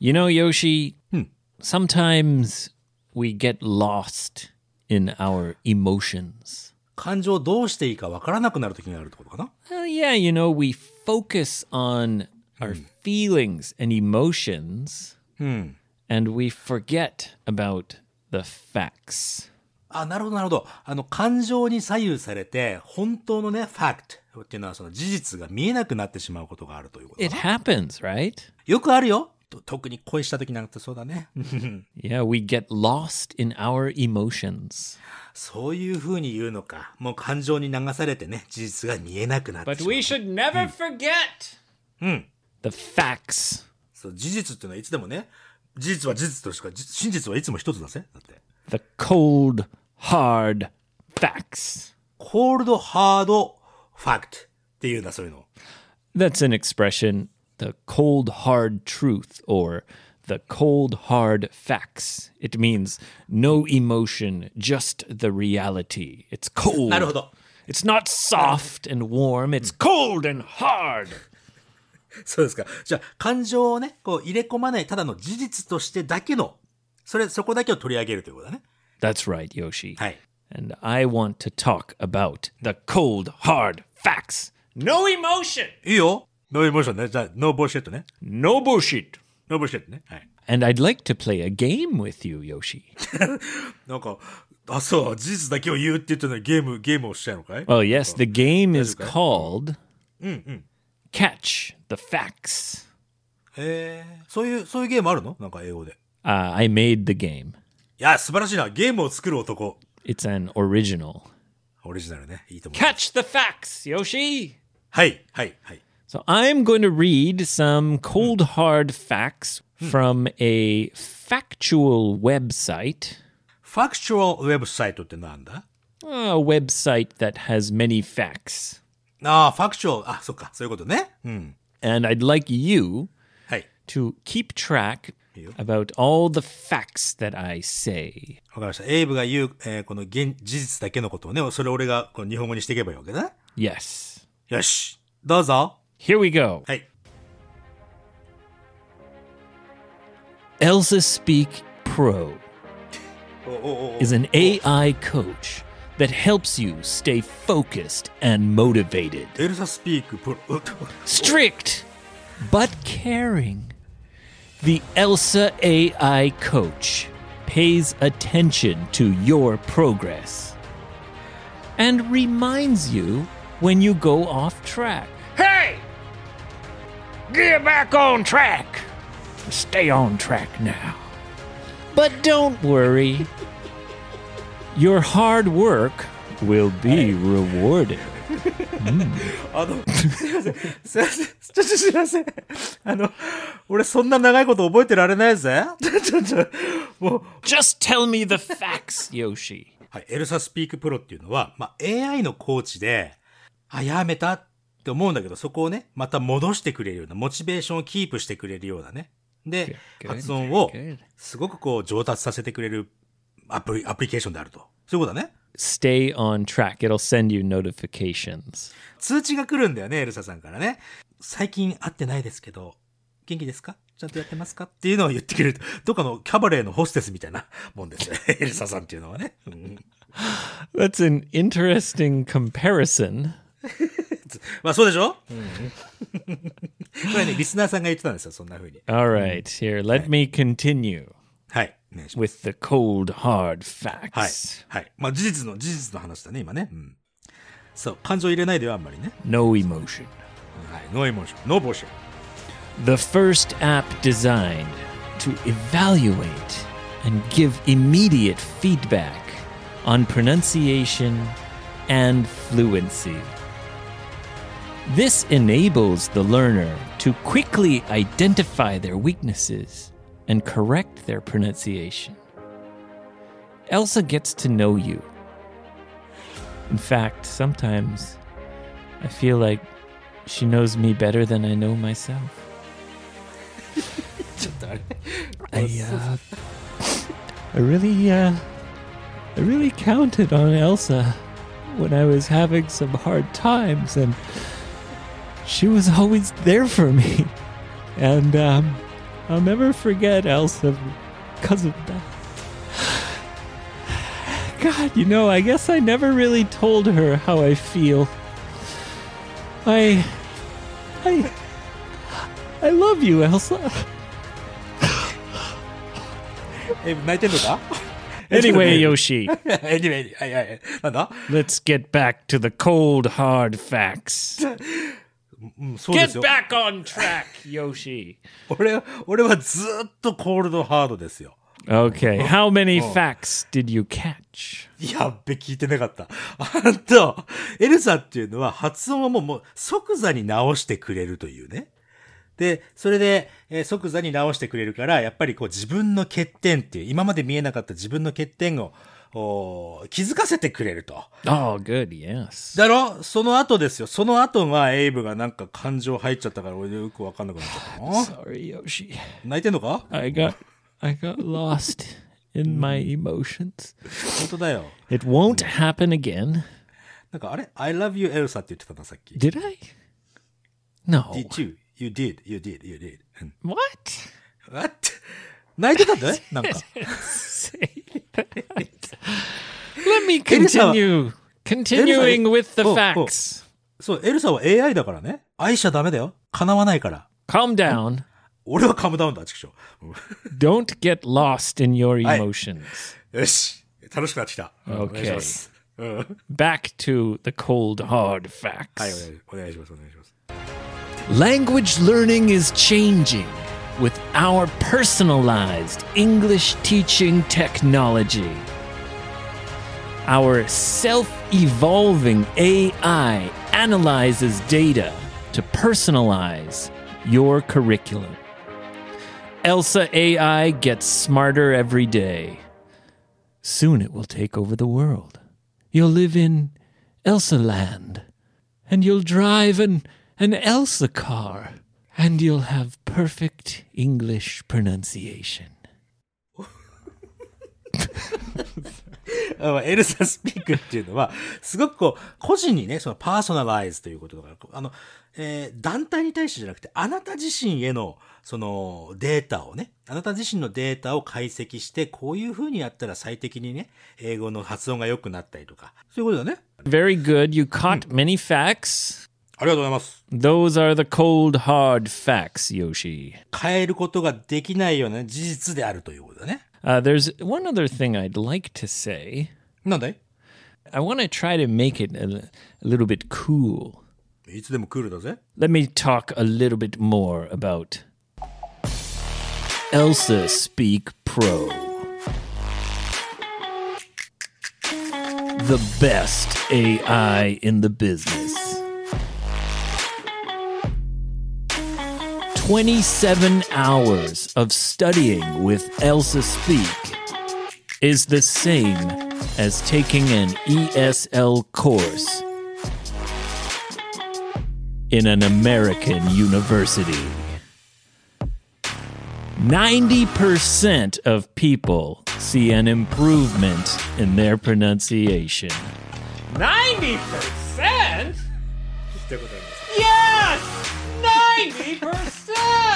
You know, Yoshi, うん。 sometimes we get lost in our emotions. 感情どうしていいかわからなくなる時があるってことかな。 Well, yeah, you know, we focus on our feelings and emotions, うん。 and we forget about the facts. あ、なるほど、なるほど。感情に左右されて、本当のね、ファクトっていうのはその事実が見えなくなってしまうことがあるということだ It な。 happens, right? よくあるよ。特に恋した時なんてそうだね。 Yeah, we get lost in our emotions. そういう風に言うのか。もう感情に流されてね、事実が見えなくなって But しまう。 we should never forget うん。 the facts. そう、事実っていうのはいつでもね、事実は事実としか、真実はいつも一つだぜ。だって。 The cold, hard facts. コールドハードファクトっていうんだ、そういうの。 That's an expression, the cold, hard truth, or the cold, hard facts. It means no emotion, just the reality. It's cold. なるほど。 It's not soft and warm, it's cold and hard. そうですか。じゃあ、感情をね、こう入れ込まない、ただの事実としてだけの、そこだけを取り上げるということだね。 That's right, Yoshi. はい。 And I want to talk about the cold, hard facts. No emotion, いいよ。ノーエモーションね。じゃあ、ノーボーシェットね。 no bullshit. ノーボーシェットね。はい。 And I'd like to play a game with you, Yoshi. なんか、あ、そう、事実だけを言うって言ってたのにゲームをしちゃうのかい？ Well, yes, the game is okay. called Catch the Facts. そういうゲームあるの？なんか英語で。 I made the game. いや、素晴らしいな。ゲームを作る男。 It's an original. オリジナルね。いいと思う。 Catch the facts, Yoshi. はい、はい、はい。 So I'm going to read some cold hard facts from a factual website. ファクチュアルウェブサイトってなんだ？ A website that has many facts. ああ、ファクチュアル。あ、そっか。そういうことね。うん。 And I'd like you はい。 to keep track You. about all the facts that I say. わかりました。エイブが言う、この事実だけのことをね、それを俺がこの日本語にしていけばいいわけだ。 Yes. よし。どうぞ。 Here we go. はい。 Elsa Speak Pro おおお is an AI coach that helps you stay focused and motivated. エルサスピークプロ。 Strict, but caring. The Elsa AI coach pays attention to your progress and reminds you when you go off track. Hey! Get back on track! Stay on track now. But don't worry. Your hard work will be rewarded. すいません。すいません。ちょっとすいません。俺そんな長いこと覚えてられないぜ。もう。 Just tell me the facts, Yoshi. はい。エルサスピークプロっていうのは、まあ、AI のコーチで、あ、やめたって思うんだけど、そこをね、また戻してくれるような、モチベーションをキープしてくれるようなね。で、 Good, 発音を good. すごくこう上達させてくれるアプリケーションであると。そういうことだね。 Stay on track. It'll send you notifications. 通知が来るんだよね、エルサさんからね。最近会ってないですけど、元気ですか？ちゃんとやってますか？っていうのを言ってくれる。どっかのキャバレーのホステスみたいなもんですよ。エルサさんっていうのはね。うん、 That's an interesting comparison. まあそうでしょ？これね、リスナーさんが言ってたんですよ、そんな風に。 All right, here, let me continue はい。お願いします。 with the cold, hard facts. はい。はい。まあ事実の話だね、今ね。うん。そう、感情入れないでよ、あんまりね。 No emotion. はい。ノーエモーション、ノーボーション。 The first app designed to evaluate and give immediate feedback on pronunciation and fluency. This enables the learner to quickly identify their weaknesses and correct their pronunciation. Elsa gets to know you. In fact, sometimes I feel like she knows me better than I know myself. ちょっとあれ I really counted on Elsa when I was having some hard times, and she was always there for me. And I'll never forget Elsa because of that. God, I guess I never really told her how I feel. I love you, Elsa. 泣いてんのか Anyway, Yoshi, anyway, はいはい。なんだ let's get back to the cold, hard facts. うん、そうで Get すよ。 back on track, Yoshi. 俺はずっとコールドハードですよ。 Okay, how many facts did you catch? やっべ、聞いてなかった。エルサっていうのは発音はもう即座に直してくれるというね。で、それで、即座に直してくれるから、やっぱりこう自分の欠点っていう、今まで見えなかった自分の欠点を気づかせてくれると。 Oh, good, yes. だろその後ですよ。その後がエイブがなんか感情入っちゃったから俺よくわかんなくなっちゃったな。 Sorry, Yoshi. 泣いてんのか I got lost in my emotions. 本当だよ。 It won't happen again. なんかあれ ?I love you, Elsa って言ってたな、さっき。 Did I? No. Did you? You did. うん What? What? 泣いてたんだねなんか。 Say that. Let me continue. Continuing with the facts. そう、エルサは AI だからね。愛しちゃダメだよ。叶わないから。 Calm down. 俺はカムダウンだ、ちくしょう。 Don't get lost in your emotions. よし。楽しくなってきた。お願いし Okay. ます。うんはい、 Back to the cold, hard facts. お願いします。 Language learning is changing with our personalized English teaching technology. Our self-evolving AI analyzes data to personalize your curriculum. Elsa AI gets smarter every day. Soon it will take over the world. You'll live in Elsa Land, and you'll drive an Elsa car, and you'll have perfect English pronunciation. エルサスピークっていうのは、すごくこう、個人にね、そのパーソナライズということだから、団体に対してじゃなくて、あなた自身への、そのデータをね、あなた自身のデータを解析して、こういう風にやったら最適にね、英語の発音が良くなったりとか、そういうことだね。 Very good. You caught many facts. ありがとうございます。 Those are the cold, hard facts, Yoshi. 変えることができないような事実であるということだね。 There's one other thing I'd like to say. なんだい I want to try to make it a little bit cool. いつでもクールだぜ。 Let me talk a little bit more about Elsa Speak Pro. The best AI in the business. 27 hours of studying with Elsa Speak is the same as taking an ESL course in an American university. 90% of people see an improvement in their pronunciation. 90%? Yes! 90%!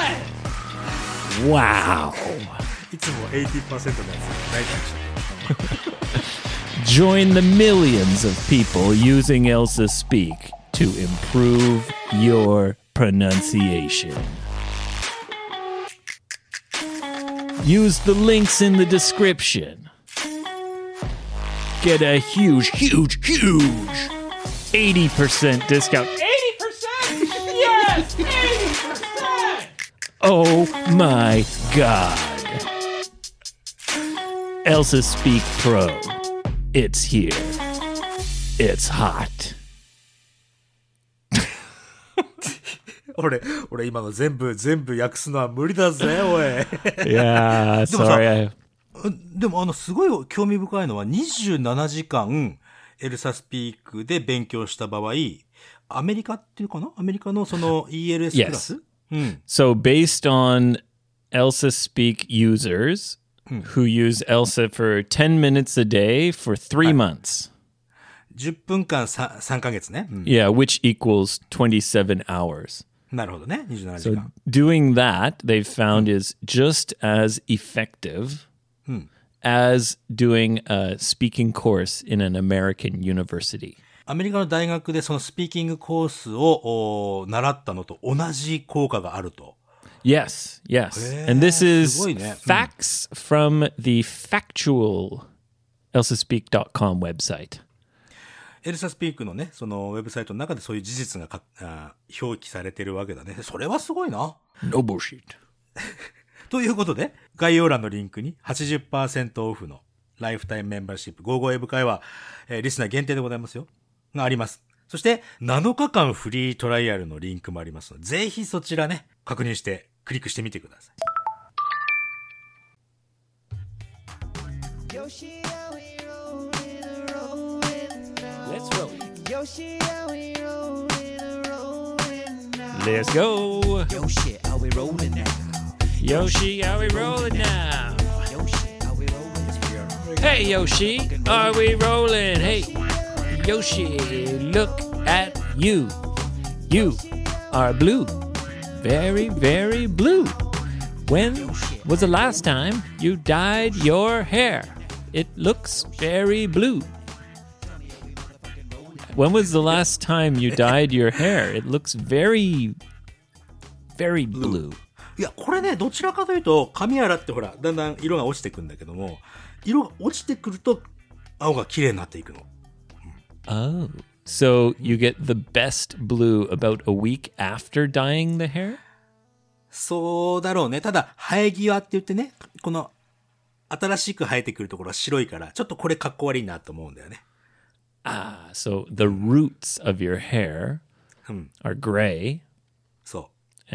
Wow. いつも 80% のやつ泣いたりして。 Join the millions of people using Elsa Speak to improve your pronunciation. Use the links in the description. Get a huge 80% discount. 80%? Yes! 80%! Oh my god. Elsa Speak Pro. It's here. It's hot. 俺今の全部訳すのは無理だぜ、おい。 Yeah, sorry. でもすごい興味深いのは27時間エルサスピークで勉強した場合、アメリカっていうかなアメリカのその ELS クラス、 So based on Elsa Speak users who use Elsa for 10 minutes a day for 3 months. 10分間3ヶ月ね。 Yeah, which equals 27 hours. なるほどね。27時 So 間。 doing that, they've found is just as effective as doing a speaking course in an American university. アメリカの大学でそのスピーキングコースを習ったのと同じ効果があると。 Yes, yes. And this is すごいね。 facts from the factual elsaspeak.com website. エルサスピークのね、そのウェブサイトの中でそういう事実が表記されてるわけだね。それはすごいな。 No bullshit. ということで、概要欄のリンクに 80% オフのライフタイムメンバーシップ55英語会話、リスナー限定でございますよ。があります。そして、7日間フリートライアルのリンクもありますので、ぜひそちらね、確認してクリックしてみてください。 Let's roll. Let's go. Yoshi, are we rolling now? Yoshi, are we rolling now? Yoshi, are we rolling? Hey, Yoshi, are we rolling? Hey, Yoshi, look at you. You are blue. Very, very blue. When was the last time you dyed your hair? It looks very blue. When was the last time you dyed your hair? It looks very, very blue. いや、これね、どちらかというと、髪洗ってほら、だんだん色が落ちてくんだけども、色が落ちてくると、青が綺麗になっていくの。 Oh. So you get the best blue about a week after dyeing the hair? そうだろうね。ただ、生え際って言ってね、この、新しく生えてくるところは白いから、ちょっとこれかっこ悪いなと思うんだよね。 Ah, so the roots of your hair are gray, そう。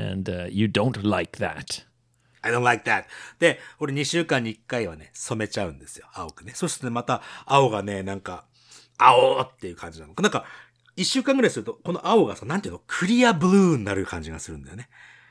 and you don't like that. I don't like that. で、俺2週間に1回はね、染めちゃうんですよ。青くね。そしてね、また、青がね、なんか、青っていう感じなの。なんか、1週間ぐらいすると、この青がさ、なんていうの、クリアブルーになる感じがするんだよね。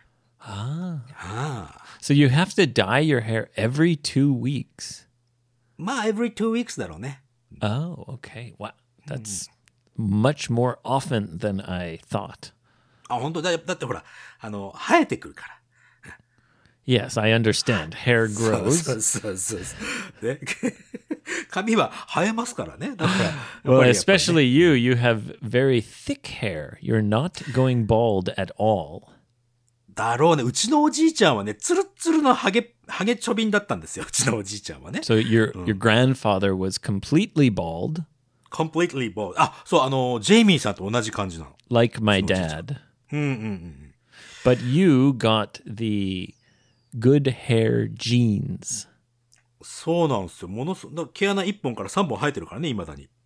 So you have to dye your hair every 2 weeks. まあ、every 2 weeks だろうね。 Oh, okay. Wow. That's much more often than I thought. あ、本当だ。だってほら、生えてくるから。 Yes, I understand. Hair そう grows. そうそうそう。ね、髪は生えますからね。だからやっぱ Well, りね especially you, you have very thick hair. You're not going bald at all. だろうね。うちのおじいちゃんはね、ツルッツルのハゲちょびんだったんですよ。うちのおじいちゃんはね。 So your grandfather was completely bald, completely bald. あ、そう、ジェイミーさんと同じ感じなの。 like my dad. But you got the good hair genes. そうなんですよ。だから毛穴1本から3本生えてるからね、未だに。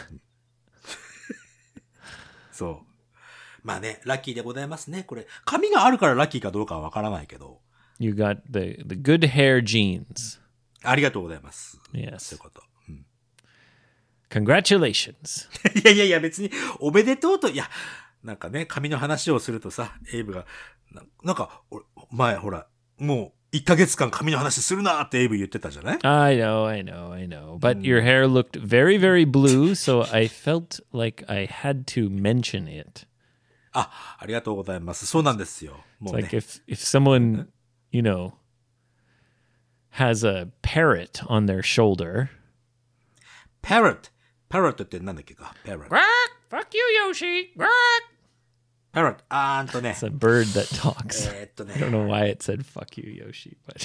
そう。まあね、ラッキーでございますね。これ、髪があるからラッキーかどうかはわからないけど。 You got the good hair genes. ありがとうございます。そうい Yes. うこと。 Congratulations. いや、別に、おめでとうと、いや、なんかね、髪の話をするとさ、エイブが、なんか、前、ほら、もう、1ヶ月間髪の話するなってエイブ言ってたじゃない？ I know. But your hair looked very, very blue, so I felt like I had to mention it. ありがとうございます。そうなんですよ。も It's うね。 like if someone, you know, has a parrot on their shoulder. parrot ってなんだっけか parrot. Quack! Fuck you, Yoshi! Quack! parrot. ね。 It's a bird that talks. ね。 I don't know why it said fuck you, Yoshi, but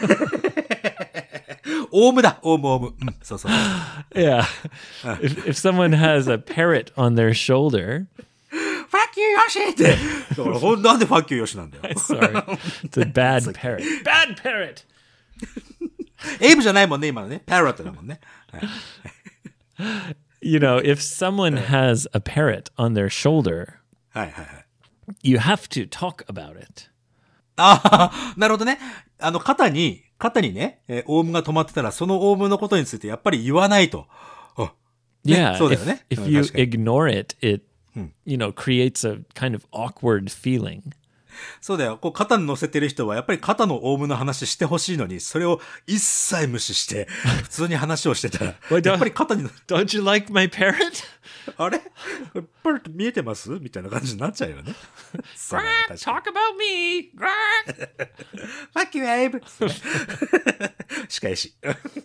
オウムだ。オウム。うん、そうそう。 yeah. If someone has a parrot on their shoulder, fuck you, ヨシって。なんで fuck you, ヨシなんだよ。 sorry, it's a bad parrot. Bad parrot! エイブじゃないもんね、今のね。parrot だもんね。はい You know, if someone has a parrot on their shoulder, はいはいはい。 you have to talk about it. なるほどね。肩にね、オウムが止まってたら、そのオウムのことについてやっぱり言わないと。 Yeah, そうだよね。 if you 確かに ignore it, it, you know, creates a kind of awkward feeling. そうだよ。こう肩に乗せてる人はやっぱり肩のオウムの話してほしいのに、それを一切無視して、普通に話をしてたら、やっぱり肩に、 Don't you like my parrot? あれパルト見えてますみたいな感じになっちゃうよね。そうだね Greg, 確かに talk about me. Greg. Fuck you, Abe! 仕返し。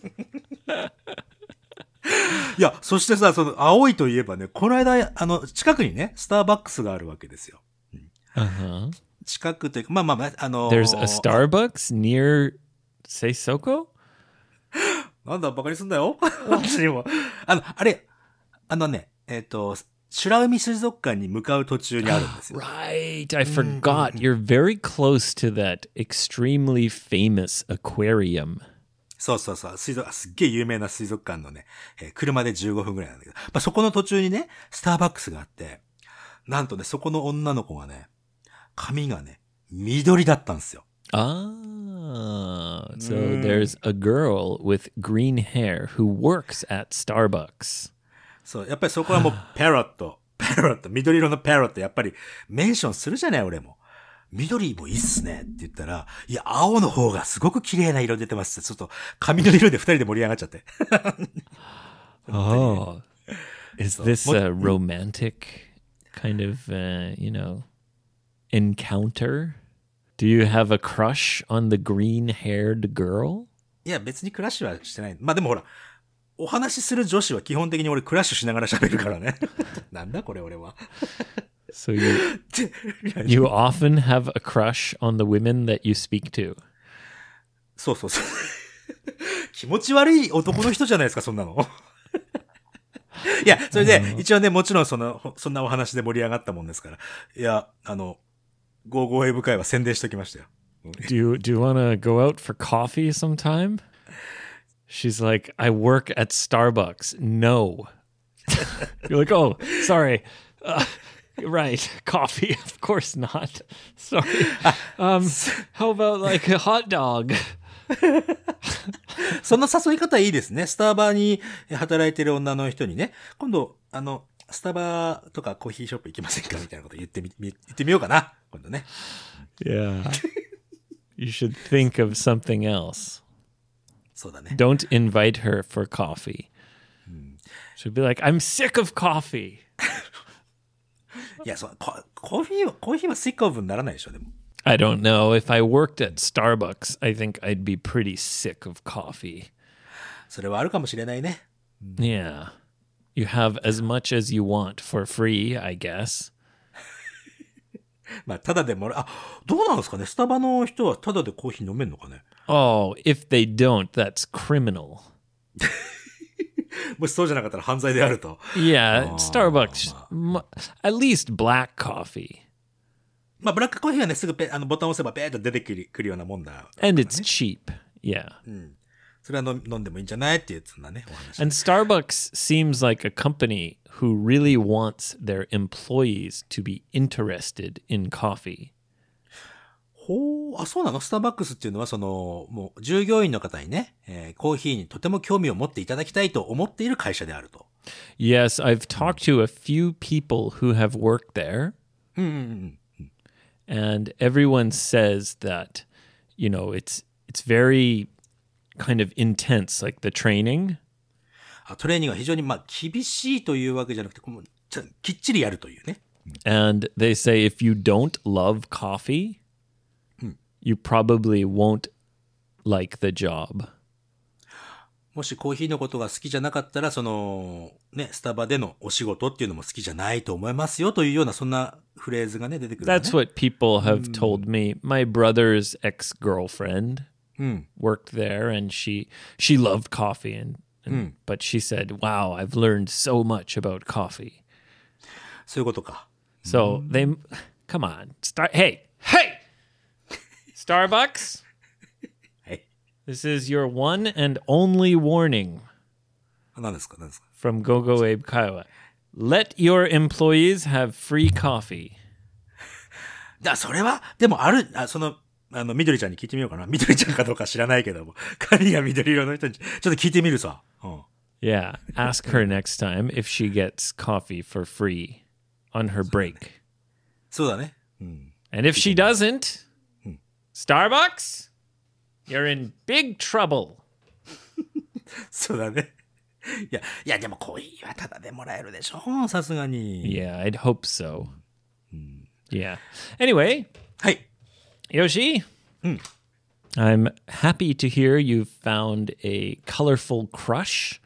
いや、そしてさ、その、青いといえばね、この間、近くにね、スターバックスがあるわけですよ。 Uh-huh. 近くというか、まあまあまあ、 There's a Starbucks near Seisoko? なんだ、バカにすんだよ。私にも。あれ、美ら海水族館に向かう途中にあるんですよ。 Right. I forgot. You're very close to that extremely famous aquarium. そうそうそう。すっげえ有名な水族館のね、車で15分ぐらいなんだけど、まあ、そこの途中にね、スターバックスがあって、なんとね、そこの女の子がね、髪がね、緑だったんですよ。 Ah, so there's a girl with green hair who works at Starbucks. そう、やっぱりそこはもう、パロット、緑色のパロット、やっぱりメンションするじゃない、俺も。緑もいいっすねって言ったら、いや、青の方がすごく綺麗な色出てますって、ちょっと髪の色で二人で盛り上がっちゃって。 Oh, is this a romantic kind of, encounter? Do you have a crush on the green-haired girl? いや、別にクラッシュはしてない。まあでもほら、お話しする女子は基本的に俺クラッシュしながら喋るからね。なんだこれ俺は。 So you often have a crush on the women that you speak to? そうそうそう。気持ち悪い男の人じゃないですか、そんなの。いや、それで、一応ね、もちろんそんなお話で盛り上がったもんですから。いや、ゴーゴーエブ会は宣伝しときましたよ。 Do you want to go out for coffee sometime? She's like, I work at Starbucks. No. You're like, oh, sorry. Right, coffee. Of course not. Sorry. How about like a hot dog? その誘い方いいですね。スタバに働いてる女の人にね、今度、スタバとかコーヒーショップ行きませんかみたいなこと言ってみようかな。今度ね。 Yeah. You should think of something else. そうだね。 Don't invite her for coffee. She'll be like, I'm sick of coffee. いや、コーヒーはsick of にならないでしょ、でも。 I don't know. If I worked at Starbucks, I think I'd be pretty sick of coffee. それはあるかもしれないね。 Yeah. You have as much as you want for free, I guess. まあ、ただでもどうなんですかね。スタバの人はただでコーヒー飲めんのかね。 Oh, if they don't, that's criminal. もしそうじゃなかったら犯罪であると。 Yeah, Starbucks, at least black coffee. まあ、ブラックコーヒーはね、すぐボタンを押せばペーッと出てくるようなもんだ。 And it's cheap. Yeah. それは飲んでもいいんじゃないっていうそんなね、お話。 And Starbucks seems like a company who really wants their employees to be interested in coffee. そうなの？スターバックスっていうのは、もう、従業員の方にね、コーヒーにとても興味を持っていただきたいと思っている会社であると。 Yes, I've talked to a few people who have worked there. And everyone says that, it's very kind of intense, like the training. トレーニングは非常に、厳しいというわけじゃなくて、きっちりやるというね。 And they say if you don't love coffee, you probably won't like the job. もしコーヒーのことが好きじゃなかったら、スタバでのお仕事っていうのも好きじゃないと思いますよというような、そんなフレーズがね、出てくる、ね。 That's what people have told me. My brother's ex-girlfriend worked there and she loved coffee but she said, wow, I've learned so much about coffee. そういうことか。 So come on, hey! Starbucks? This is your one and only warning 何ですか from GoGo Abe Kaiwa. Let your employees have free coffee. それは、でも緑ちゃんに聞いてみようかな。緑ちゃんかどうか知らないけども。髪が緑色の人に、ちょっと聞いてみるさ。 Yeah, ask her next time if she gets coffee for free on her break. そうだね。 And if she doesn't, Starbucks, you're in big trouble. そうだね。 いや、でも恋はただでもらえるでしょさすがに。 Yeah, I'd hope so. Yeah. Anyway, はい。 Yoshi, I'm happy to hear you've found a colorful crush.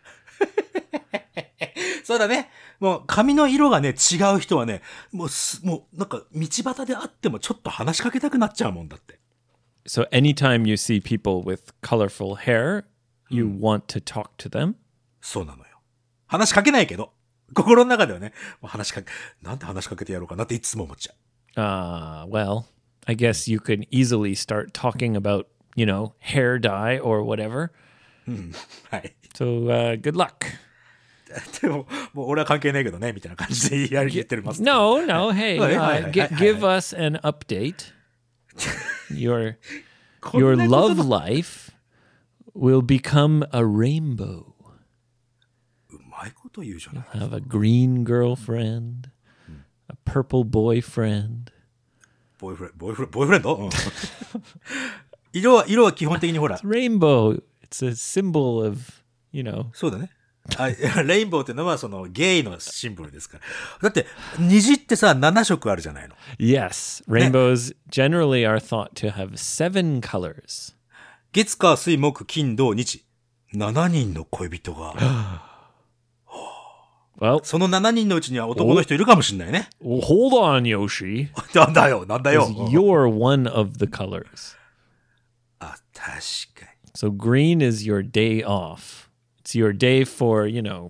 そうだね。もう髪の色がね、違う人はね、もうなんか道端で会ってもちょっと話しかけたくなっちゃうもんだって。 So anytime you see people with colorful hair, you want to talk to them? そうなのよ。話しかけないけど、心の中ではね、もうなんて話しかけてやろうかなっていつも思っちゃう。 Well, I guess you could easily start talking about, hair dye or whatever. はい。 So, good luck. でも、もう俺は関係ないけどね、みたいな感じで言ってます。 No, hey, Hi. give us an update. Your こんなこと love life will become a rainbow. うまいこと言うじゃない。 Have a green girlfriend, a purple boyfriend. ボーイフレンド、うん、色は基本的にほら。 Rainbow, it's a symbol of, そうだね。レインボーってのはそのゲイのシンボルですから。だって虹ってさ7色あるじゃないの。 Yes, rainbows generally are thought to have 7 colors. 月火水木金土日7人の恋人が Well, その7人のうちには男の人いるかもしれないね。 hold on, Yoshi. なんだよ。 You're one of the colors. あ、確かに。 So green is your day off. It's your day for,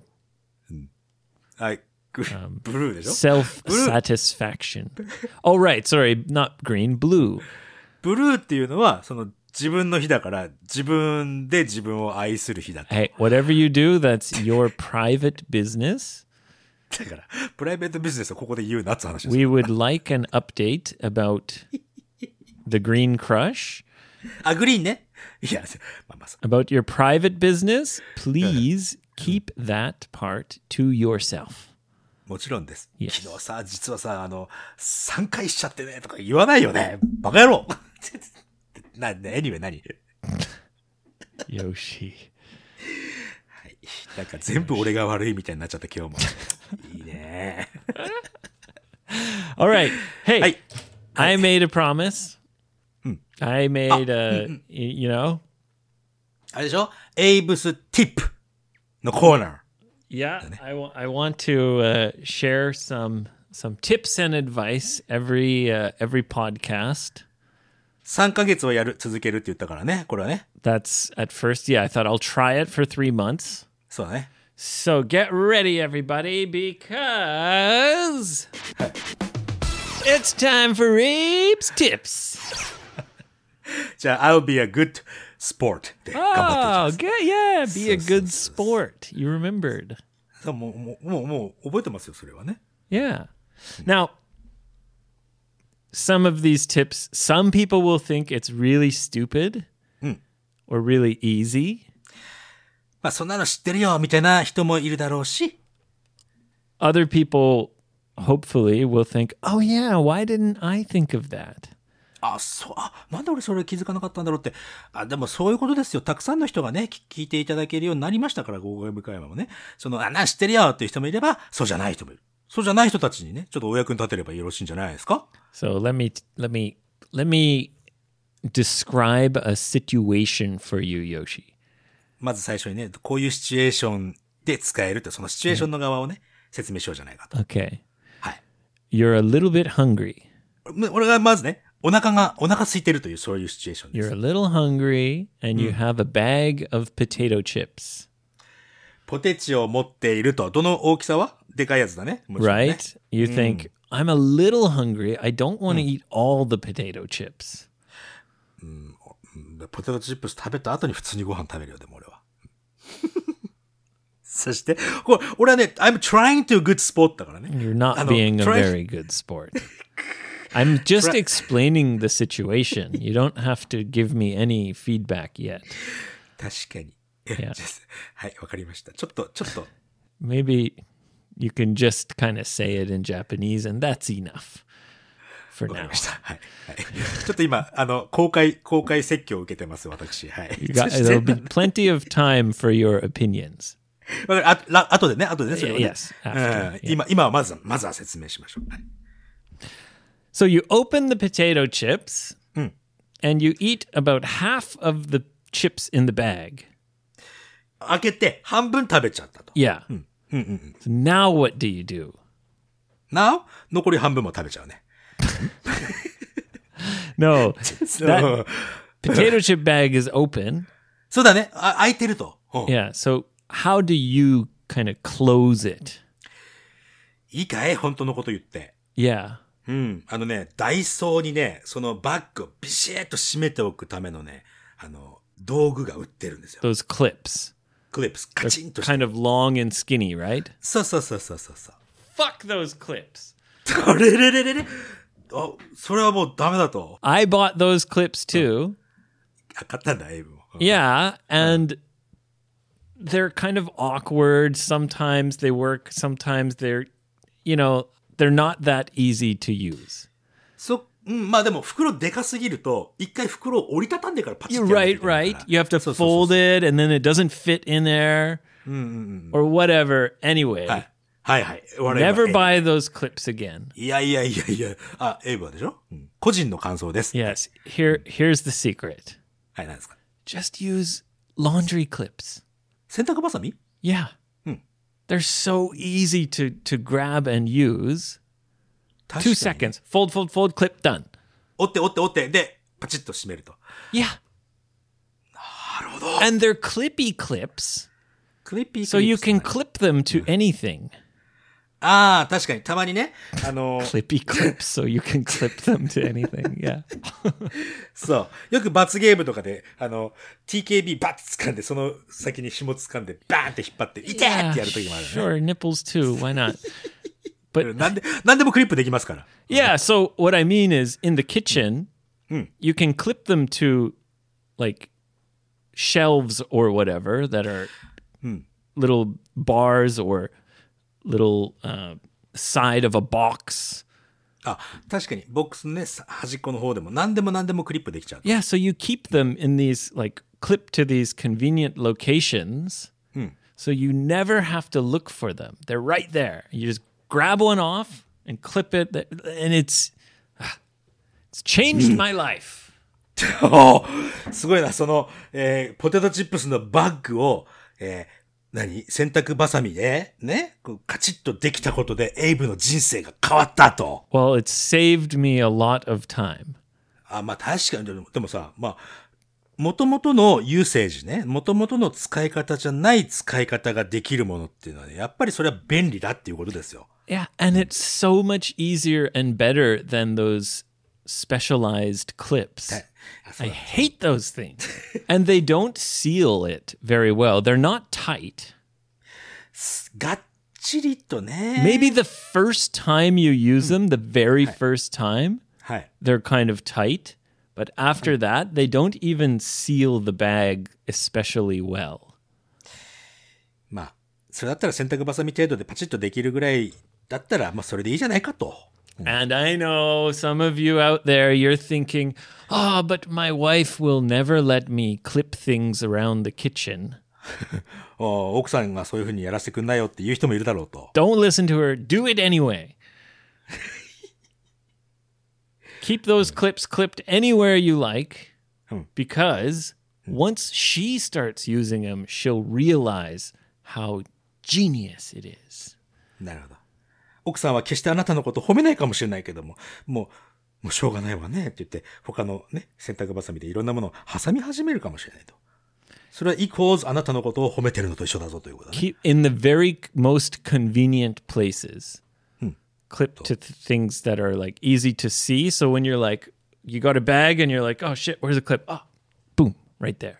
はい、ブルーでしょ。 self-satisfaction. Oh, right. Sorry, not green, blue. ブルーっていうのはその自分の日だから自分で自分を愛する日だと。 Hey, whatever you do, that's your private business. だからプライベートビジネスをここで言うなって話です。 We would like an update about the green crush. あ、グリーンね。いや、まあ、 About your private business, please keep that part to yourself. もちろんです。 Yes. 昨日さ、実はさ、3回しちゃってね、とか言わないよね。バカ野郎。anyway 何 Yoshi. はい。なんか全部俺が悪いみたいになっちゃった今日も。いいね。 All right. Hey, Hey. I made a promise. I made a, あれでしょエイブスティップのコーナー。 Yeah, I want to share some tips and advice every podcast. 3ヶ月を続けるって言ったからね、これはね。 That's at first, yeah, I thought I'll try it for 3 months. そうだね。 So get ready, everybody, because it's time for Abe's tips. じゃあ、I'll be a good sport で頑張っていき Oh, good, yeah, be a good sport. You remembered. ます。もう覚えてますよ、それはね。 Yeah. Now, some of these tips, some people will think it's really stupid or really easy. まあ、そんなの知ってるよ、みたいな人もいるだろうし。 Other people, hopefully, will think, oh, yeah, why didn't I think of that? なんで俺それ気づかなかったんだろうって。でもそういうことですよ。たくさんの人がね、聞いていただけるようになりましたから、ゴーゴー向山もね。知ってるよっていう人もいれば、そうじゃない人もいる。そうじゃない人たちにね、ちょっとお役に立てればよろしいんじゃないですか？ So let me describe a situation for you, Yoshi. まず最初にね、こういうシチュエーションで使えるって、そのシチュエーションの側をね、説明しようじゃないかと。 Okay. はい。 You're a little bit hungry. 俺がまずね、お腹空いてるというそういうシチュエーションです。 You're a little hungry and you have a bag of potato chips. ポテチを持っていると、どの大きさはでかいやつだね。もちろんね Right? You think, I'm a little hungry. I don't want to eat all the potato chips. ポテトチップス食べた後に普通にご飯食べるよ、でも俺は。そして、俺はね、I'm trying to good sport だからね。 You're not being a very good sport. I'm just explaining the situation. You don't have to give me any feedback yet. 確かに。 Yeah. はい、わかりました。ちょっと。 Maybe you can just kind of say it in Japanese and that's enough for わかり now. ました。はい。はい。ちょっと今、公開説教を受けてます、私。はい。そして There'll be plenty of time for your opinions. わかる後でね、それをね。 Yes, after, 今はまずは説明しましょう。はい So you open the potato chips, うん。 and you eat about half of the chips in the bag. 開けて半分食べちゃったと。 Yeah. So now what do you do? なお、残り半分も食べちゃうね。 No, そう that potato chip bag is open. そうだね。開いてると。うん Yeah. So how do you kind of close it? いいかい本当のこと言って。 Yeah. うん。ダイソーにね、そのバッグをビシッと締めておくためのね、道具が売ってるんですよ。 Those clips. クリップス、カチンとして。 Kind of long and skinny, right? そう。 Fuck those clips. あれれれれれ。あ、それはもうダメだと。 I bought those clips too. 買ったんだ、エイブも。 Yeah, and they're kind of awkward. Sometimes they work, sometimes they're, they're not that easy to use. まあでも袋でかすぎると、一回袋を折りたたんでからパチッ You're てやらなきゃ right, いけないから right. You have to fold it and then it doesn't fit in there or whatever. Anyway, はい。 never buy those clips again. いや。あ、エイブはでしょ、個人の感想です。 Yes, here's the secret. はい、何ですか Just use laundry clips. 洗濯バサミ Yeah. They're so easy to grab and use. 確か 2 に seconds. Fold, clip, done. 折って。で、パチッと締めると。 Yeah. なるほど。 And they're clippy clips, クリッピー so you クリッ can プス clip them to anything. ああ、確かに。たまにね。 Clippy clips, so you can clip them to anything. Yeah. そう。よく罰ゲームとかで、TKB バッて掴んで、その先に紐掴んで、バーンって引っ張って、痛ーってやるときもあるよね。 Sure, nipples too. Why not? But なんでもクリップできますから。 yeah, so what I mean is in the kitchen, you can clip them to like shelves or whatever that are little bars or little side of a box. あ、確かに、ボックスのね、端っこの方でも、何でもクリップできちゃう。 Yeah, so you keep them in these like clip to these convenient locations. So you never have to look for them. They're right there. You just grab one off and clip it and it's changed my life. おすごいな、ポテトチップスのバッグを、洗濯バサミで、ね、こうカチッとできたことで、エイブの人生が変わったと。 Well, it saved me a lot of time. あ、まあ確かに、でもさ、まあ、元々のユーセージね、元々の使い方じゃない使い方ができるものっていうのはね、やっぱりそれは便利だっていうことですよ。 Yeah, and it's so much easier and better than those specialized clips. I hate those things. And they don't seal it very well. They're not tight. がっちりとね。 Maybe the first time you use them, the very first time, はい。 they're kind of tight. But after that, they don't even seal the bag especially well. まあ、それだったら洗濯バサミ程度でパチッとできるぐらいだったら、まあそれでいいじゃないかと。 And I know some of you out there, you're thinking, oh, but my wife will never let me clip things around the kitchen. 奥さんがそういう風にやらせてくんないよっていう人もいるだろうと。 Don't listen to her. Do it anyway. Keep those clips clipped anywhere you like because once she starts using them, she'll realize how genius it is. なるほど。奥さんは決してあなたのことを褒めないかもしれないけども、もうしょうがないわねって言って、他のね、洗濯バサミでいろんなものを挟み始めるかもしれないと。それは equals あなたのことを褒めてるのと一緒だぞということだね。 Keep in the very most convenient places. Clip to things that are like easy to see. So when you're like, you got a bag and you're like, oh shit, where's the clip? Oh, boom, right there.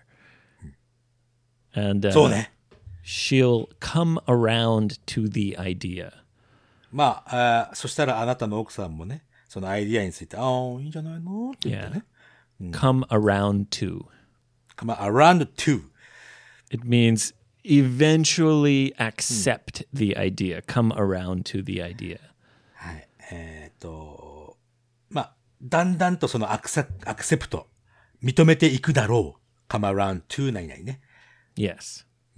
And そうね。 she'll come around to the idea. まあ、そしたらあなたの奥さんもね、そのアイディアについて、ああ、いいんじゃないのって言ってね。 Come around to. Come around to. It means eventually accept the idea. Come around to the idea. はい。まあ、だんだんとそのアクセプト、認めていくだろう。come around to 何々ね。 Yes.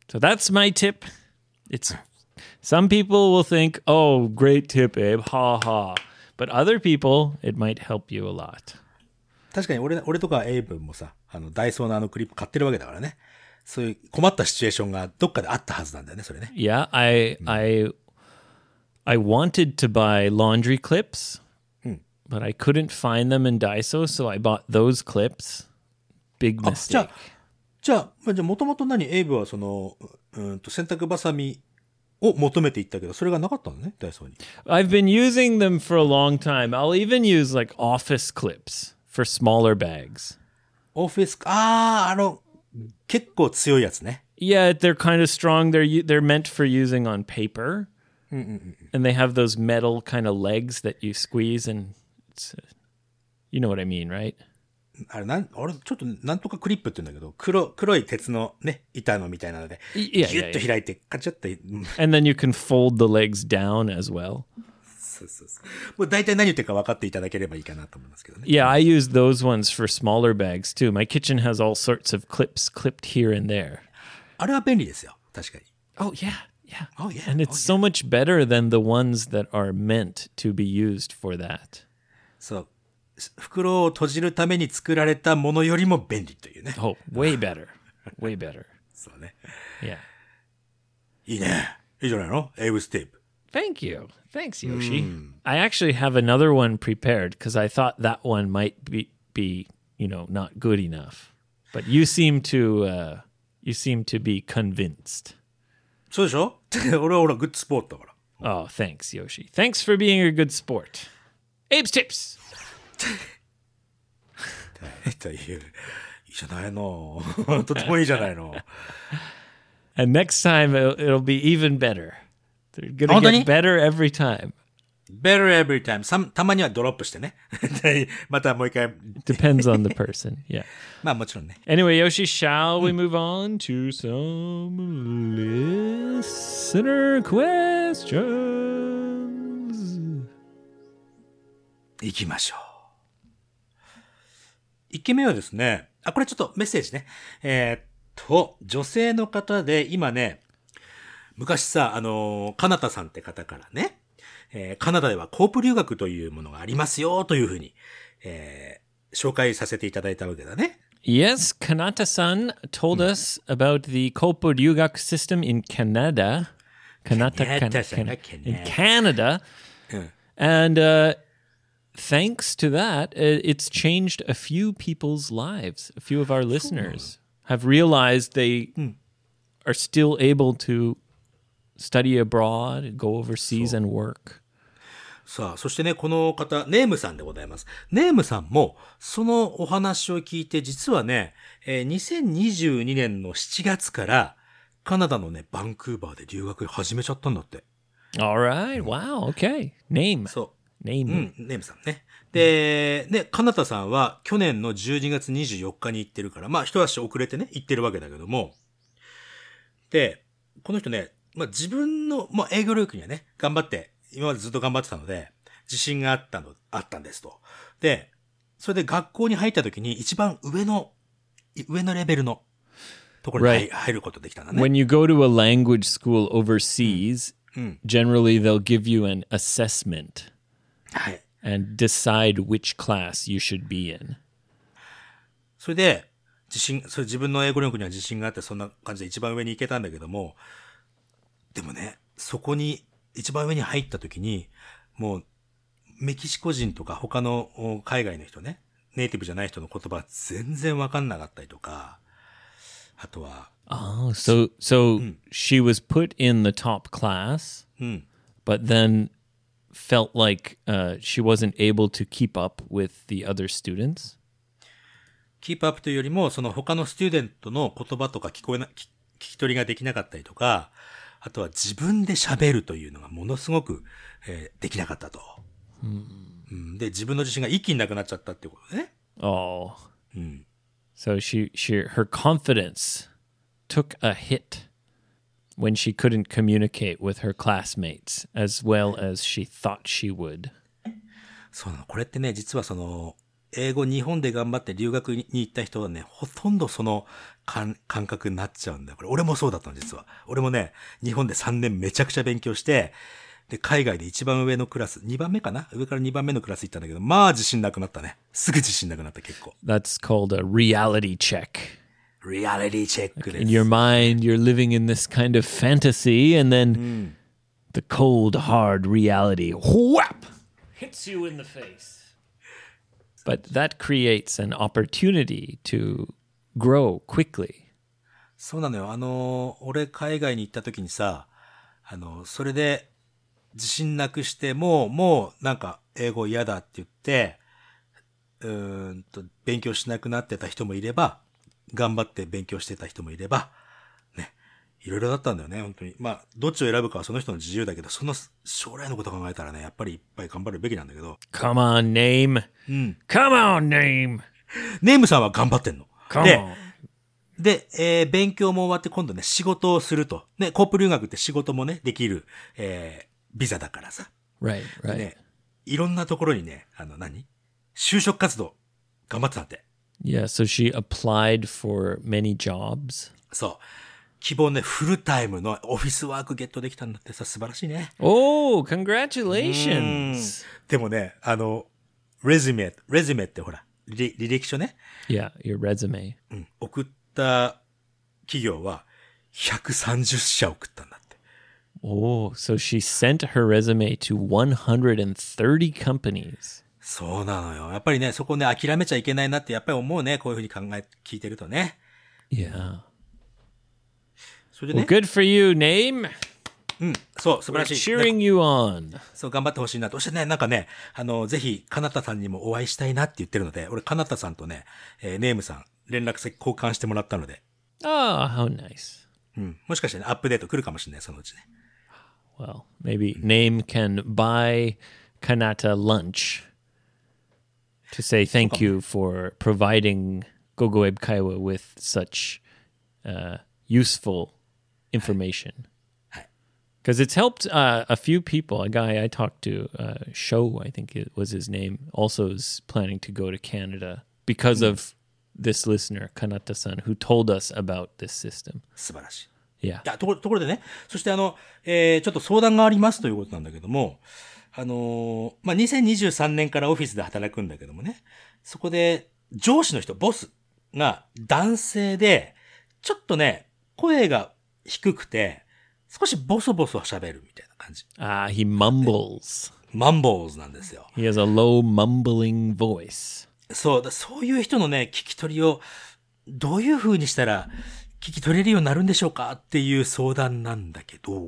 So that's my tip. It's some people will think, "Oh, great tip, Abe. Ha ha." But other people, it might help you a lot. 確かに俺とかエイブもさ、ダイソーのクリップ買ってるわけだからね。そういう困ったシチュエーションがどっかであったはずなんだよね、それね。 Yeah, I wanted to buy laundry clips, but I couldn't find them in Daiso, so I bought those clips. Big あ、 mistake. じゃあ、もともとエイブは洗濯バサミを求めていったけど、それがなかったのね、ダイソーに。 I've been using them for a long time. I'll even use like office clips for smaller bags. オフィス、結構強いやつね。 Yeah, they're kind of strong. They're meant for using on paper, and they have those metal kind of legs that you squeeze, and it's, you know what I mean, right? 俺ちょっとなんとかクリップって言うんだけど、黒い鉄のね、板のみたいなので、ギュッと開いて、カチャッと。 And then you can fold the legs down as well. そう。もう大体何言ってるか分かっていただければいいかなと思いますけどね。 Yeah, I use those ones for smaller bags too. My kitchen has all sorts of clips clipped here and there. あれは便利ですよ、確かに。 Oh, yeah, yeah. Oh, yeah. And it's so much better than the ones that are meant to be used for that. そう。袋を閉じるために作られたものよりも便利というね。 Oh, way better. Way better. そうね。 Yeah. いいね。いいじゃないの？エイブステープ。 Thank you. Thanks, Yoshi. I actually have another one prepared because I thought that one might be, not good enough. But you seem to be convinced. そうでしょ？俺はグッドスポーツだから。 Oh, thanks, Yoshi. Thanks for being a good sport. Abe's tips. という、いいじゃないの。とてもいいじゃないの。 And next time it'll be even better. They're gonna get better every time. Better every time. たまにはドロップしてね。またもう一回。 Depends on the person. Yeah. まあもちろんね。 Anyway, Yoshi, shall we move on to some listener questions? 行きましょう。1件目はですね、これちょっとメッセージね。女性の方で、今ね、昔さ、カナタさんって方からね、カナダではコープ留学というものがありますよ、というふうに、紹介させていただいたわけだね。 Yes, Kanata-san told us about the Kopo Ryugak system in Canada. In Canada. And thanks to that, it's changed a few people's lives. A few of our listeners have realized they are still able to study abroad, go overseas and work. さあ、そしてね、この方、ネームさんでございます。ネームさんも、そのお話を聞いて、実はね、2022年の7月から、カナダのね、バンクーバーで留学始めちゃったんだって。 All right. Wow. Okay. Name. そう。 Name. ネームさんね。で、カナダさんは去年の12月24日に行ってるから、まあ一足遅れてね、行ってるわけだけども。で、この人ね、まあ自分の、まあ英語力にはね、頑張って、今までずっと頑張ってたので、自信があったんですと。で、それで学校に入った時に一番上のレベルのところに入ることできたんだね。 When you go to a language school overseas, generally they'll give you an assessment. はい。 And decide which class you should be in. それで、自分の英語力には自信があって、そんな感じで一番上に行けたんだけども、でもね、そこに、一番上に入った時に、もう、メキシコ人とか他の海外の人ね、ネイティブじゃない人の言葉全然わかんなかったりとか、あとは、 Oh, so she was put in the top class, but then felt like she wasn't able to keep up with the other students? keep up というよりも、その他のスチューデントの言葉とか聞き取りができなかったりとか、あとは自分で喋るというのがものすごく、できなかったと。で、自分の自信が一気になくなっちゃったっていうことでね。 Oh. So her confidence took a hit when she couldn't communicate with her classmates as well as she thought she would. そうなの。これってね、実は英語日本で頑張って留学に行った人はね、ほとんどその感覚になっちゃうんだよ。これ、俺もそうだったの、実は。俺もね、日本で3年めちゃくちゃ勉強して、で、海外で一番上のクラス、2番目かな？上から2番目のクラス行ったんだけど、まあ自信なくなったね。すぐ自信なくなった結構。 That's called a reality check. リアリティチェックです。 In your mind, you're living in this kind of fantasy, and then the cold, hard reality whap hits you in the face. But that creates an opportunity to grow quickly. そうなのよ。俺海外に行った時にさ、それで自信なくして、もうなんか英語嫌だって言って、勉強しなくなってた人もいれば、頑張って勉強してた人もいれば、ね、いろいろだったんだよね、本当に。まあ、どっちを選ぶかはその人の自由だけど、その将来のことを考えたらね、やっぱりいっぱい頑張るべきなんだけど。 Come on, name. Come on, name. ネームさんは頑張ってんの。 Come on. で、勉強も終わって今度ね、仕事をすると。ね、コープ留学って仕事もね、できる、ビザだからさ。 Right, right. ね、いろんなところにね、就職活動、頑張ってたって。 Yeah, so she applied for many jobs. そう。希望ね、フルタイムのオフィスワークゲットできたんだってさ、素晴らしいね。 Oh, congratulations. でもね、レズメってほら、履歴書ね。 Yeah, your resume. 送った企業は130社送ったんだって。 Oh, so she sent her resume to 130 companies. そうなのよ。やっぱりね、そこね、諦めちゃいけないなってやっぱり思うね。こういうふうに聞いてるとね。 Yeah. それで Well, ね。 good for you, name. そう、素晴 We're らしい。 cheering you on. そう、頑張ってほしいなと。そしてね、なんかね、ぜひ、かなたさんにもお会いしたいなって言ってるので、俺、かなたさんとね、ネームさん、連絡先交換してもらったので、 Oh, how nice. もしかしてね、アップデート来るかもしれない、そのうちね。 Well, maybe Name can buy Kanata lunch to say thank you for providing Gogoeb Kaiwa with such useful information. Because it's helped a few people. A guy I talked to, Sho, I think it was his name, also is planning to go to Canada because of this listener, Kanata-san, who told us about this system. 素晴らしい。 Yeah. いや、ところでね、そしてちょっと相談がありますということなんだけども、2023年からオフィスで働くんだけどもね、そこで上司の人、ボスが男性で、ちょっとね、声が低くて、少しボソボソ喋るみたいな感じ。 He mumbles. マンボーズなんですよ。 He has a low mumbling voice. そういう人のね、聞き取りをどういう風にしたら聞き取れるようになるんでしょうかっていう相談なんだけど、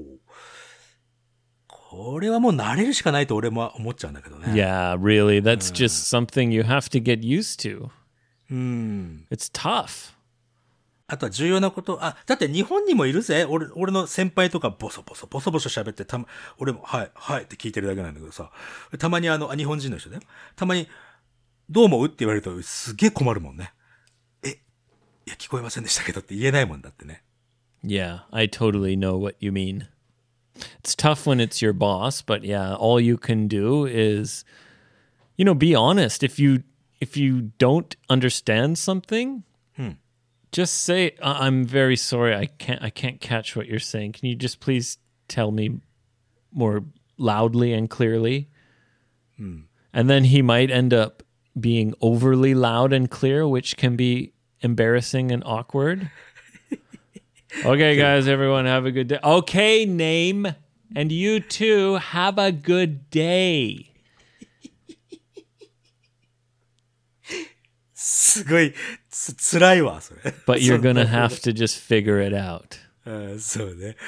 これはもう慣れるしかないと俺も思っちゃうんだけどね。 Yeah, really. That's just something you have to get used to. うん。 It's tough. あとは重要なこと、だって日本にもいるぜ。俺の先輩とかボソボソ喋って俺も、はいって聞いてるだけなんだけどさ、たまに日本人の人だよ。たまに、どう思うって言われるとすげえ困るもんね。いや、聞こえませんでしたけどって言えないもんだってね。 Yeah, I totally know what you mean. It's tough when it's your boss, but yeah, all you can do is, be honest. If you don't understand something, just say, I'm very sorry. I can't catch what you're saying. Can you just please tell me more loudly and clearly? And then he might end up being overly loud and clear, which can be embarrassing and awkward. Okay, guys, everyone have a good day. Okay, Name. And you too, have a good day. すごい、辛いわ、それ。 But you're gonna have to just figure it out. そうね。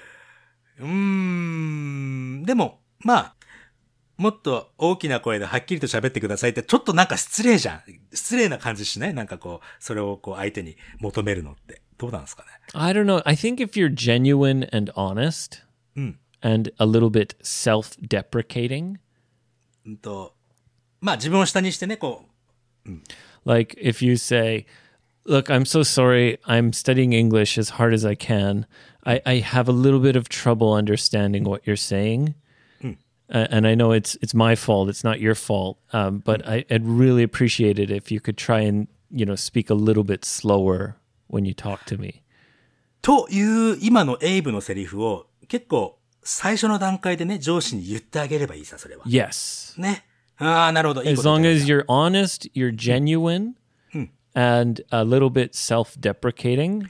でも、まあ、もっと大きな声ではっきりと喋ってくださいって、ちょっとなんか失礼じゃん。失礼な感じしない？なんかそれを相手に求めるのって。どうなんですかね？ I don't know. I think if you're genuine and honest and a little bit self-deprecating, まあ自分を下にしてね、 like if you say, look, I'm so sorry. I'm studying English as hard as I can. I have a little bit of trouble understanding what you're saying. And I know it's my fault. It's not your fault. But I'd really appreciate it if you could try and, speak a little bit slower when you talk to me. という今のエイブのセリフを結構最初の段階でね、上司に言ってあげればいいさ、それは。 Yes. ね。ああ、なるほど。いいこ As と long 言っ as た you're honest, you're genuine, and a little bit self-deprecating,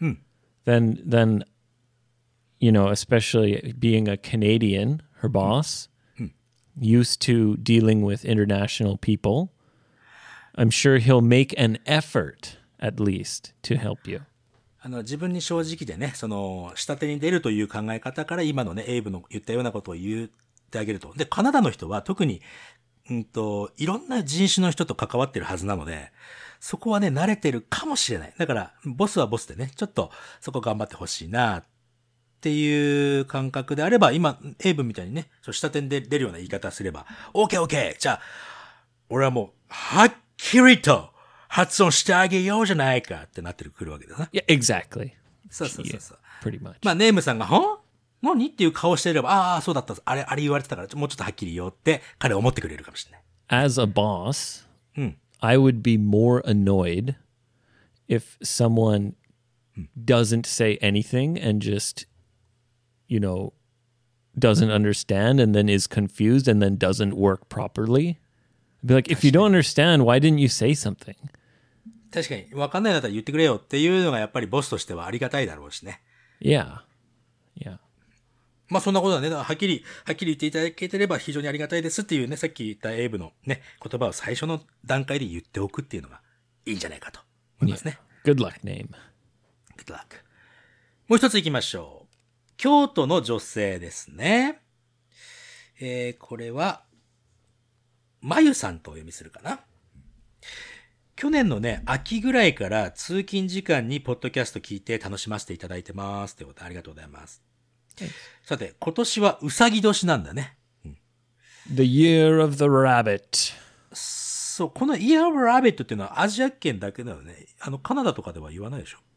then you know, especially being a Canadian, her boss, used to dealing with international people, I'm sure he'll make an effort, at least, to help you. 自分に正直でね、下手に出るという考え方から今のね、エイブの言ったようなことを言ってあげると。で、カナダの人は特に、いろんな人種の人と関わってるはずなので、そこはね、慣れてるかもしれない。だから、ボスはボスでね、ちょっとそこ頑張ってほしいな、っていう感覚であれば、今、エイブみたいにね、下手に出るような言い方すれば、OK! じゃあ、俺はもう、はっきりと、発音してあげようじゃないかってなってくるわけだな。 Yeah, exactly. そうそうそうそう。 Pretty much. まあ、ネームさんが、何っていう顔していれば、ああ、そうだった。あれ言われてたから、もうちょっとはっきり言おうって、彼は思ってくれるかもしれない。 As a boss, I would be more annoyed if someone doesn't say anything and just, you know, doesn't understand and then is confused and then doesn't work properly. I'd be like, if you don't understand, why didn't you say something? 確かに、わかんないんだったら言ってくれよっていうのがやっぱりボスとしてはありがたいだろうしね。 Yeah. Yeah. まあそんなことはね、はっきり言っていただけてれば非常にありがたいですっていうね、さっき言ったエイブのね、言葉を最初の段階で言っておくっていうのがいいんじゃないかと思いますね。 Good luck name. Good luck. もう一つ行きましょう。京都の女性ですね。これは、まゆさんとお読みするかな。去年のね、秋ぐらいから通勤時間にポッドキャスト聞いて楽しませていただいてます。ということでありがとうございます。さて、今年はうさぎ年なんだね。 The year of the rabbit. そう、この Year of Rabbit っていうのはアジア圏だけだよね。カナダとかでは言わないでしょ。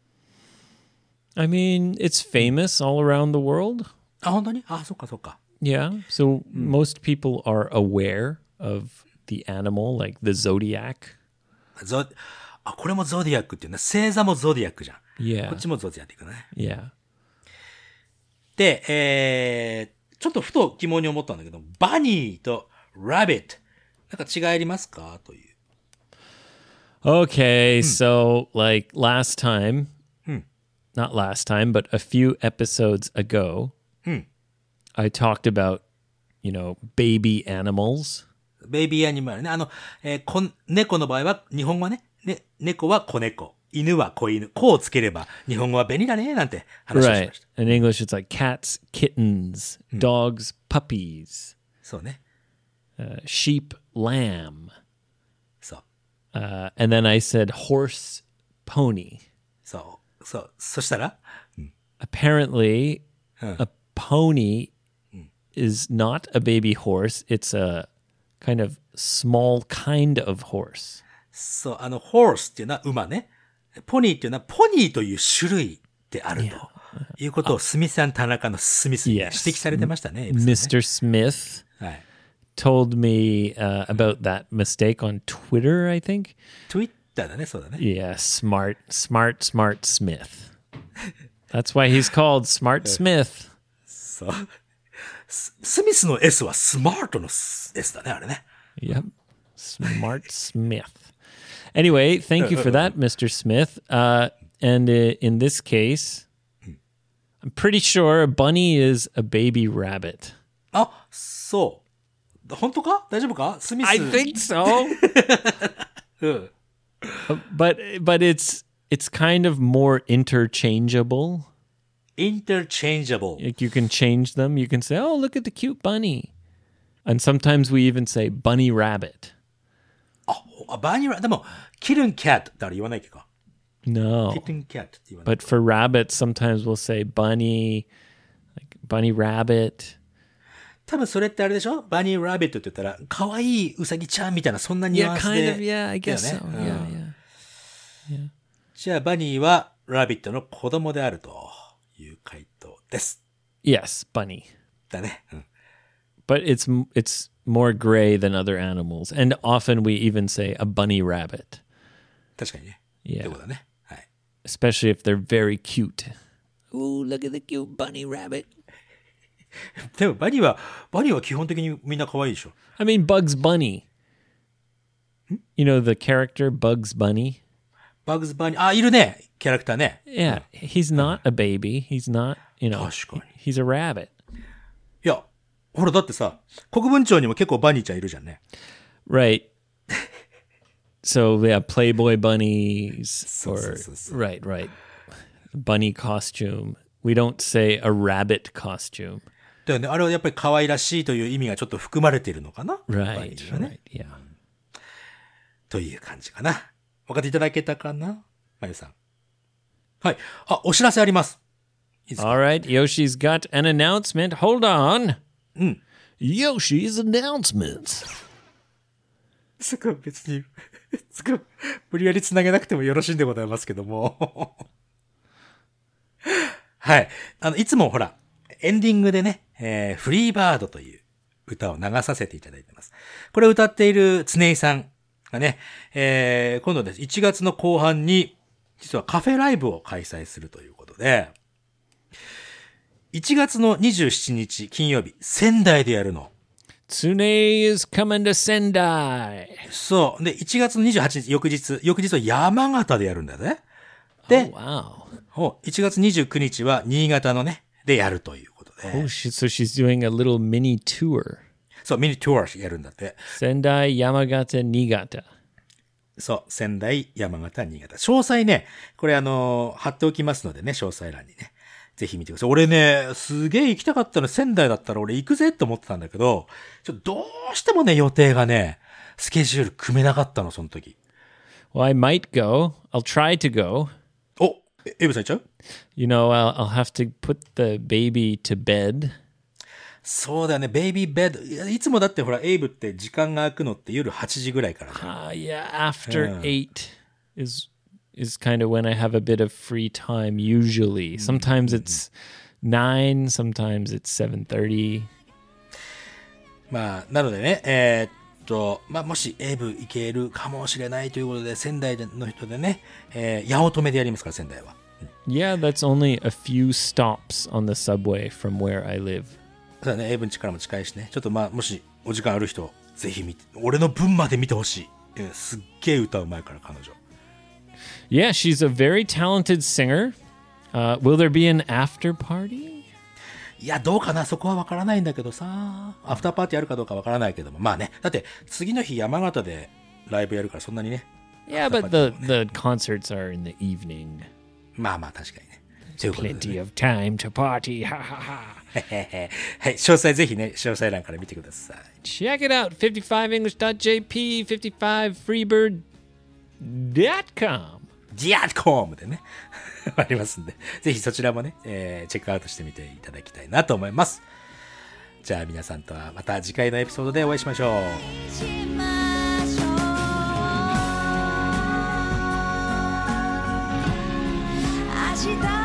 I mean, it's famous all around the world. あ、本当に？あ、そっかそっか。 Yeah. So most people are aware of the animal, like the zodiac. これもゾディアックっていうね。星座もゾディアックじゃん。 Yeah. こっちもゾディアックっていうかね。 Yeah. で、ちょっとふと疑問に思ったんだけど、バニーとラビット、なんか違いありますかという。 Okay, so like last time, not last time, but a few episodes ago, I talked about, you know, baby animals. ベイビーアニマルね。猫の場合は、日本語はね、猫は子猫。犬は子犬。子をつければ、日本語は便利だね、なんて話をし Right. ました。 In English, it's like cats, kittens, dogs, puppies, そうね。 sheep, lamb. そう。 And then I said horse, pony. そう。そう。そしたら Apparently, a pony is not a baby horse. It's a kind of small kind of horse. そう、horse っていうのは馬ね。ポニーっていうのはポニーという種類であるということをスミス&田中のスミスに指 Yes. 摘されてましたね。エイブさんね Mr. Smith はい。 told me about that mistake on Twitter, I think. Twitter だね、そうだね。 Yeah, smart Smith. That's why he's called Smart Smith. そう。スミスの S はスマートの S だね、あれね。 Yep. Smart Smith. Anyway, thank you for that, Mr. Smith. And in this case, I'm pretty sure a bunny is a baby rabbit. あ、そう。本当か？大丈夫か？スミス。 I think so. うん。 but it's kind of more interchangeable. interchangeable. Like you can change them. You can say, "Oh, look at the cute bunny." And sometimes we even say bunny rabbit. バニラ、でも、キルンキャットってあれ言わないっけか。 No. キルンキャットって言わない。 But for rabbits, sometimes we'll say bunny, like bunny rabbit. 多分それってあれでしょ？バニーラビットって言ったら、可愛いウサギちゃんみたいな、そんなニュ Yeah, アンス kind で。 of. Yeah, I guess だ so. よね。 Yeah. じゃあ、バニーはラビットの子供であるという回答です。 Yes, bunny. だね。うん。 But it's more gray than other animals. And often we even say a bunny rabbit. 確かにね。 Yeah. ってことだね。はい。 especially if they're very cute. Ooh, look at the cute bunny rabbit. でもバニーは基本的にみんな可愛いでしょ。 I mean, Bugs Bunny. You know the character Bugs Bunny? バグズバニー、あ、いるね、キャラクターね。 Yeah, he's not a baby. He's not, you know, 確かに。 he's a rabbit. いや、ほらだってさ、国分町にも結構バニーちゃんいるじゃんね。 Right. So, yeah, Playboy bunnies or, そう。 right. Bunny costume. We don't say a rabbit costume. だよね、あれはやっぱり可愛らしいという意味がちょっと含まれているのかな。バニ Right, ーはね。 right, yeah. という感じかな。分かっていただけたかな、まゆさん。はい。あ、お知らせあります。いいですか？ All right, Yoshi's got an announcement. Hold on. うん。 Yoshi's announcements. すごい別に、すごい無理やりつなげなくてもよろしいんでございますけども。はい。いつもほら、エンディングでね、フリーバードという歌を流させていただいてます。これを歌っている常井さんがね、今度です1月の後半に、実はカフェライブを開催するということで、1月の27日金曜日、仙台でやるの。 Tsune is coming to Sendai. そう。で、1月の28日、翌日は山形でやるんだよね。で、 Wow. 1月29日は新潟のね、でやるということで。 Oh, so she's doing a little mini tour. そう、ミニトゥアーやるんだって。 Sendai, Yamagata, Niigata. そう、仙台、山形、新潟。詳細ね、これ貼っておきますのでね、詳細欄にね。ぜひ見てください。俺ね、すげえ行きたかったの、仙台だったら俺行くぜって思ってたんだけど、どうしてもね、予定がね、スケジュール組めなかったの、その時。 Well, I might go. I'll try to go. お、エブさん行っちゃう？ You know, I'll have to put the baby to bed. そうだよね、ベイビーベッド。いつもだってほら、エイブって時間が空くのって夜8時ぐらいからね。 Yeah, after 8 is kind of when I have a bit of free time usually. Sometimes it's 9, sometimes it's 7:30. まあ、なのでね、まあ、もしエイブ行けるかもしれないということで、仙台の人でね、八乙女でやりますから、仙台は。 Yeah, that's only a few stops on the subway from where I live. そうだね、エイブん家からも近いしね。ちょっとまあ、もしお時間ある人、ぜひ見て、俺の分まで見てほしい。すっげえ歌うまいから、彼女。 Yeah, she's a very talented singer. Will there be an after party? いや、どうかな、そこはわからないんだけどさ。アフターパーティーあるかどうかわからないけども。まあね。だって、次の日山形でライブやるからそんなにね。 Yeah, but the concerts are in the evening. まあまあ、確かにね。ということでね Plenty of time to party. Ha ha ha. はい、詳細ぜひね、詳細欄から見てください。 Check it out. 55english.jp, 55freebird.com. ジアーコムでね、ありますんで、ぜひそちらもね、チェックアウトしてみていただきたいなと思います。じゃあ皆さんとはまた次回のエピソードでお会いしましょう。 しましょう明日